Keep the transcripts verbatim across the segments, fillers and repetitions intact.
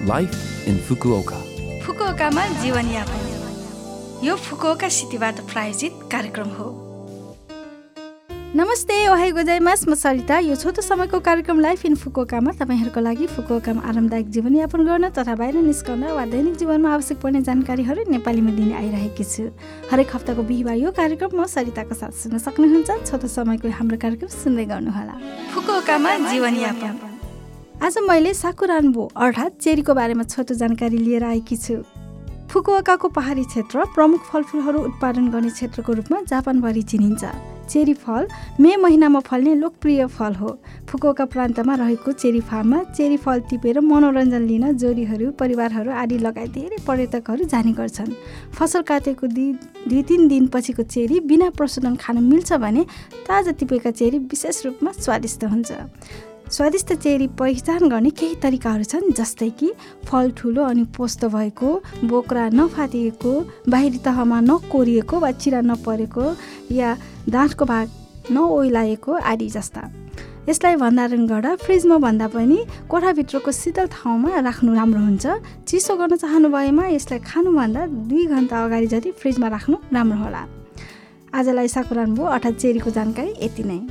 Life in Fukuoka. फुकुओकामा जीवनयापन यो Fukuoka सिटीबाट प्रायोजित कार्यक्रम हो। नमस्ते, ओहाई गोजाइमास, म सरिता। यो छोटो समयको कार्यक्रम लाइफ इन फुकुओकामा तपाईँहरूको लागि फुकुओकामा आरामदायक जीवनयापन गर्न तथा बाहिर निस्कन वा दैनिक जीवनमा आवश्यक पर्ने जानकारीहरू नेपालीमा दिने आइरहेकी छु। हरेक हप्ताको बिहिबार यो कार्यक्रम म सरिताको साथ सुन्न सक्नुहुन्छ। छोटो समयको हाम्रो कार्यक्रम सुन्दै गर्नुहोला। फुकुओकामा जीवनयापन। आज मैले साकुरान्बो अर्थात् चेरीको बारेमा छोटो जानकारी लिएर आएकी छु। फुकुओकाको पहाडी क्षेत्र प्रमुख फलफुलहरू उत्पादन गर्ने क्षेत्रको रूपमा जापानभरि चिनिन्छ। चेरी फल मे महिनामा फल्ने लोकप्रिय फल हो। फुकुओका प्रान्तमा रहेको चेरी फार्ममा चेरी फल टिपेर मनोरञ्जन लिन जोडीहरू, परिवारहरू आदि लगायत धेरै पर्यटकहरू जाने गर्छन्। फसल काटेको दुई दुई तिन दिनपछिको चेरी बिना प्रशोधन खान मिल्छ भने ताजा टिपेका चेरी विशेष रूपमा स्वादिष्ट हुन्छ। स्वादिष्ट चेरी पहिचान गर्ने केही तरिकाहरू छन्, जस्तै कि फल ठुलो अनि पोस्त भएको, बोक्रा नफाटिएको, बाहिरी तहमा नकोरिएको वा चिरा नपरेको या दाँतको भाग नओइलाएको आदि जस्ता। यसलाई भण्डारण गर्दा फ्रिजमा भन्दा पनि कोठाभित्रको शीतल ठाउँमा राख्नु राम्रो हुन्छ। चिसो गर्न चाहनु भएमा यसलाई खानुभन्दा दुई घन्टा अगाडि जति फ्रिजमा राख्नु राम्रो होला। आजलाई साकुरान्बो अर्थात् चेरीको जानकारी यति नै।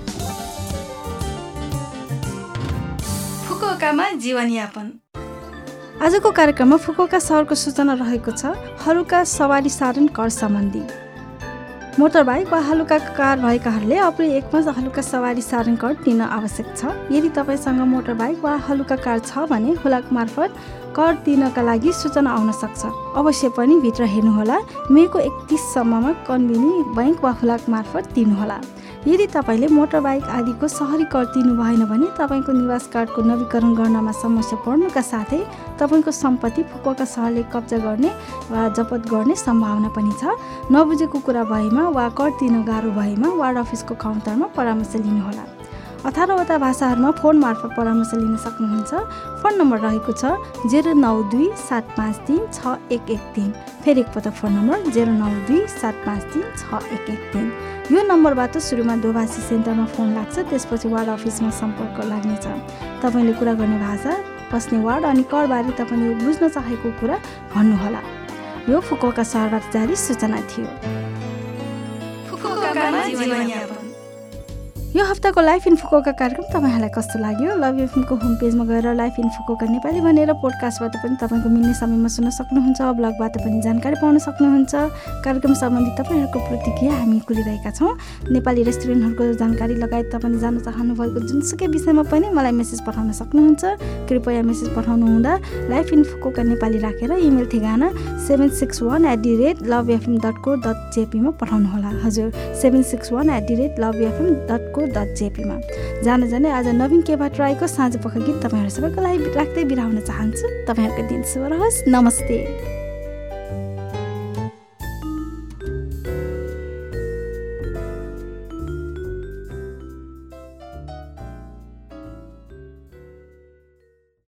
फुकुओकामा जीवनयापन। आजको कार्यक्रममा फुकुओका सहरको सूचना रहेको छ। हलुका सवारी साधन कर सम्बन्धी। मोटरबाइक वा हलुका कार भएकाहरूले अप्रिल एकमा हलुका सवारी साधन कर तिर्न आवश्यक छ। यदि तपाईँसँग मोटरबाइक वा हलुका कार छ भने हुलाक मार्फत कर तिर्नका लागि सूचना आउन सक्छ। अवश्य पनि भित्र हेर्नुहोला। मेको एकतिससम्ममा कन्बिनी बैङ्क वा हुलाक मार्फत तिर्नुहोला। यदि तपाईँले मोटरबाइक आदिको सहरी कर तिर्नु भएन भने तपाईँको निवास कार्डको नवीकरण गर्नमा समस्या पर्नुका साथै तपाईँको सम्पत्ति फुकुओका सहरले कब्जा गर्ने वा जफत गर्ने सम्भावना पनि छ। नबुझेको कुरा भएमा वा कर तिर्न गाह्रो भएमा वार्ड अफिसको काउन्टरमा परामर्श लिनुहोला। अठारवटा भाषाहरूमा फोन मार्फत परामर्श लिन सक्नुहुन्छ। फोन नम्बर रहेको छ जेरो नौ दुई सात पाँच तिन छ एक एक तिन। फेरि एकपटक फोन नम्बर जेरो नौ दुई सात पाँच तिन छ एक एक तिन। यो नम्बरबाट सुरुमा दोभाषी सेन्टरमा फोन लाग्छ, त्यसपछि वार्ड अफिसमा सम्पर्क लाग्नेछ। तपाईँले कुरा गर्ने भाषा, बस्ने वार्ड अनि करबारे तपाईँले बुझ्न चाहेको कुरा भन्नुहोला। यो फुकुओका सहरबाट जारी सूचना थियो। फुकुओकामा जीवनयापन। यो हप्ताको लाइफ इन फुकुओका कार्यक्रम तपाईँहरूलाई कस्तो लाग्यो? लभ एफएमको होम पेजमा गएर लाइफ इन फुकुओका नेपाली भनेर पोडकास्टबाट पनि तपाईँको मिल्ने समयमा सुन्न सक्नुहुन्छ। ब्लगबाट पनि जानकारी पाउन सक्नुहुन्छ। कार्यक्रम सम्बन्धी तपाईँहरूको प्रतिक्रिया हामी कुरिरहेका छौँ। नेपाली रेस्टुरेन्टहरूको जानकारी लगायत तपाईँले जान्न चाहनुभएको जुनसुकै विषयमा पनि मलाई मेसेज पठाउन सक्नुहुन्छ। कृपया मेसेज पठाउनु हुँदा लाइफ इन फुकुओका नेपाली राखेर इमेल ठेगाना seven six one at the rate love FM dot को डट जेपीमा पठाउनुहोला। हजुर, seven six one at the rate love FM dot को डट जेपीमा। जान जाने आज नवीन केबाट राईको साँझ पख गीत तपाईँहरू सबैको लागि राख्दै बिराउन चाहन्छु। तपाईँहरूको दिन शुभ रहोस्। नमस्ते।